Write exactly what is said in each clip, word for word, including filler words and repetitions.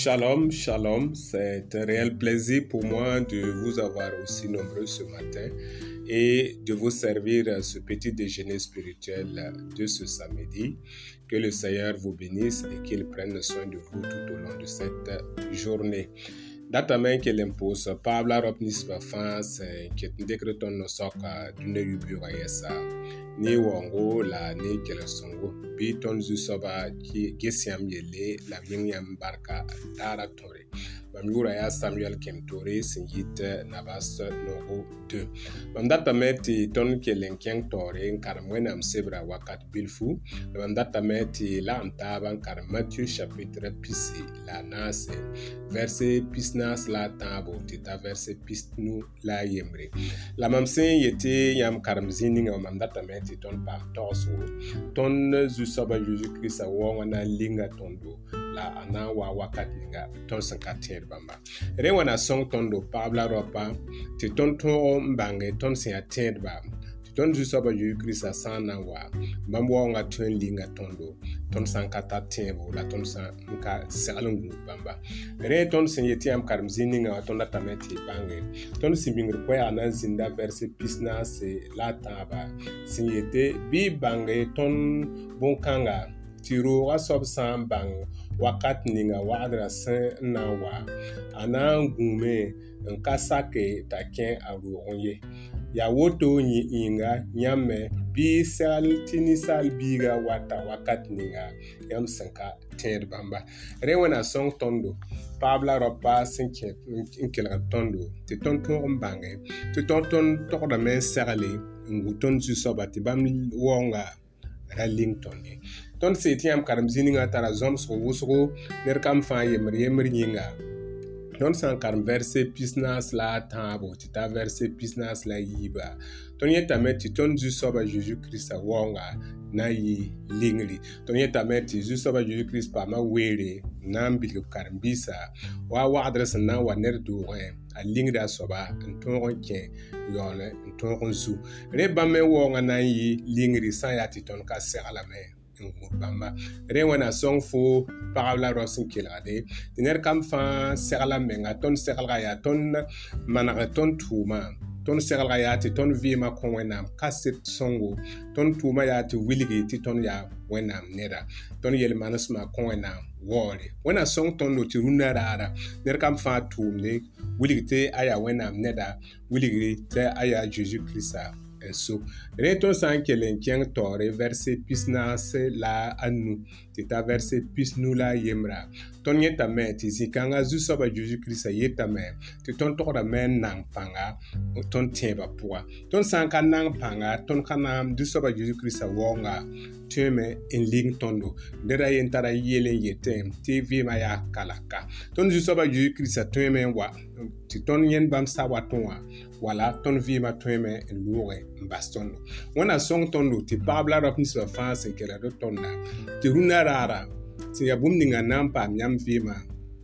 Shalom, shalom, c'est un réel plaisir pour moi de vous avoir aussi nombreux ce matin et de vous servir ce petit déjeuner spirituel de ce samedi. Que le Seigneur vous bénisse et qu'il prenne soin de vous tout au long de cette journée. Datamen que l'impose Pabla Ropnis Bafans, qui est décréton no soka d'une yubura yesa, ni wango la ni kelesongo, biton zusoba qui gesiam yele, la vignam barka dara tore. Bamura ya Samuel Kemtore, singit nabas nogo deux. Bamdatameti ton ke lenkeng tore, karmwenam sebra wakat bilfu, bamdatameti la antaban kar Matthieu chapitre pisi, la nase, verset pisnas la tabo, tita verset pisnu la yemre. La mamsen yete yam karmzini nga mamdatameti ton par torso, ton zusoba Jésus-Christ a wana linga tondo, la ana wa wakat linga, ton sankater bamba. Rewana song tondo Pabla ropa, ti ton ton mbange ton sin ater ba, ti ton zusoba Jésus-Christ a sana wa, bambo nga tuen linga tondo, ton sankata tembo, la ton sanka salungu bamba. Re ton sin yeti am karmzini nga ton datameti bange, ton simbingr kwe anan zinda verse pisna se la taba, sin yete bi bange ton bonkanga, tiro wasob san bang, wakat ninga wadra sen na wa, anan gume, nkasake taken aruonye. Ya woto nyi inga, nyame, bi sal tini sal biga wata wakat ninga, yam sanka ter bamba. Rewana song tondo, Pabla ropa sinke inkela tondo, te ton ton mbange, te ton ton tokda men serale, nguton zusoba ti bam wonga ralington. Ton setiam karamzini nga tara zom so wusgo ner kam fa yemer yemer nyinga. Ton san karam verse pisnas la tabo, tita verse pisnas la yiba. Ton yetameti ton zu soba Jésus-Christ wonga na yi lingli. Ton yetameti zu soba Jésus-Christ pa ma were na mbilu karambisa wa wa adresse na wa ner doure a lingda soba nton ken yole nton zu. Reba me wonga na yi lingri san ya titon ka serala me. Bamba rewana song fo parabla rosin kilade diner kam fa serla menga ton serla ya ton manaka ton tuma ton serla ya ti ton vima kon wenam kaset songo ton tuma ya ti wiligi ti ton ya wenam nera ton yel manasma kon wenam wori wena song ton no ti runara ner kam fa tumne wiligi te aya wenam neda wiligi te aya Jésus Christ. So, reton san kelen keng tore verse pisna se la anu, tita verse pisnu la yemra. Ton yeta men, ti zikanga zusoba Jésus-Christ yeta men, ti ton tokra men nang panga, ton tienba poa. Ton san ka nang panga, ton kanam zusoba Jésus-Christ wonga, tueme en ling tondo. Dera yentara yelen yetem, ti vima ya kalaka. Ton zusoba Jésus-Christ tueme wa, ti ton yen bam sa watonwa. Voilà, ton vie ma tueme en loure baston. Wana song tondo ti Pabla Ropnis Bafans en kela do tonda. Ti runa rara. Ti ya bum ninga nampa nyam vima.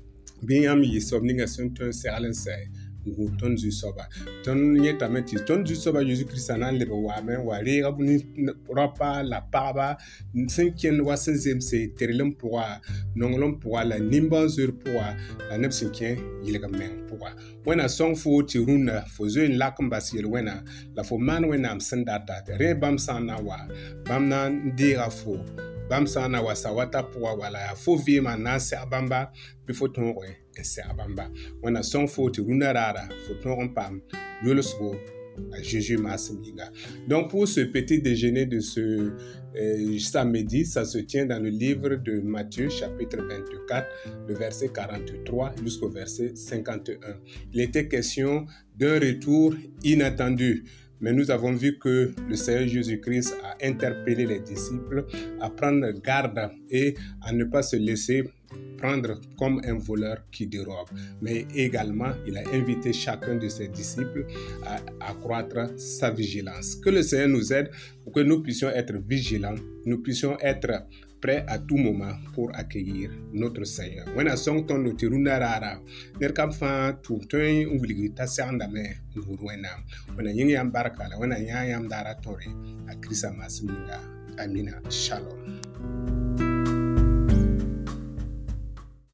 Binyam yi sob ninga son ton seralen say. Ngu ton zu soba. Ton yeta meti ton zu soba Jésus-Christ anan lebe wa men wa re rabuni ropa la paba sinkien wa senzem se terelem poa nongolom poa la nimban sur poa la nep sinkien yilega men poa. Wena song fo ti runa fo zo in lakum basil wena la fo man wena am sendata re bam sana wa bam na ndira fo bam sana wa sawata poa wala ya fo vima na se abamba before ton re se abamba. Wena song fo ti runa rara fo ton pam yolosgo à Jésus Massinga. Donc pour ce petit déjeuner de ce euh, samedi, ça se tient dans le livre de Matthieu chapitre vingt-quatre, le verset quarante-trois jusqu'au verset cinquante et un. Il était question d'un retour inattendu. Mais nous avons vu que le Seigneur Jésus-Christ a interpellé les disciples à prendre garde et à ne pas se laisser prendre comme un voleur qui dérobe. Mais également, il a invité chacun de ses disciples à accroître sa vigilance. Que le Seigneur nous aide pour que nous puissions être vigilants, nous puissions être prêts à tout moment pour accueillir notre Seigneur. When a song ton notiruna rara, nerkam fa tu toin ungli ta sandame ngurwena. When a yingi ambaraka, when a yam dara tori, a krisa masminga. Amina. Shalom.